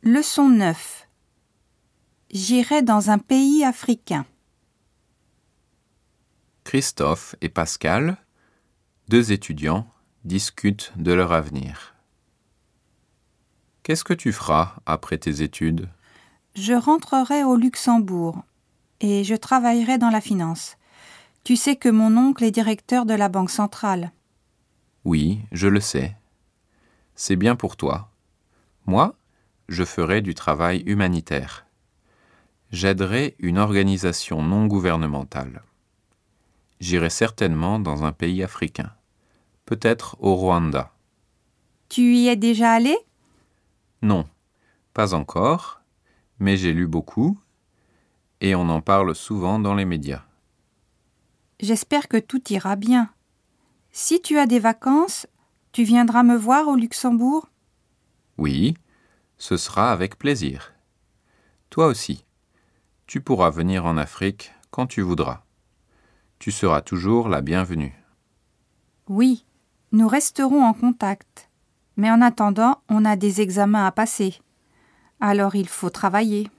Leçon 9. J'irai dans un pays africain. Christophe et Pascal, deux étudiants, discutent de leur avenir. Qu'est-ce que tu feras après tes études ? Je rentrerai au Luxembourg et je travaillerai dans la finance. Tu sais que mon oncle est directeur de la Banque centrale. Oui, je le sais. C'est bien pour toi. Moi, je ferai du travail humanitaire. J'aiderai une organisation non gouvernementale. J'irai certainement dans un pays africain, peut-être au Rwanda. Tu y es déjà allé ? Non, pas encore, mais j'ai lu beaucoup et on en parle souvent dans les médias. J'espère que tout ira bien. Si tu as des vacances, tu viendras me voir au Luxembourg ? Oui, ce sera avec plaisir. Toi aussi, tu pourras venir en Afrique quand tu voudras. Tu seras toujours la bienvenue. Oui, nous resterons en contact. Mais en attendant, on a des examens à passer. Alors il faut travailler.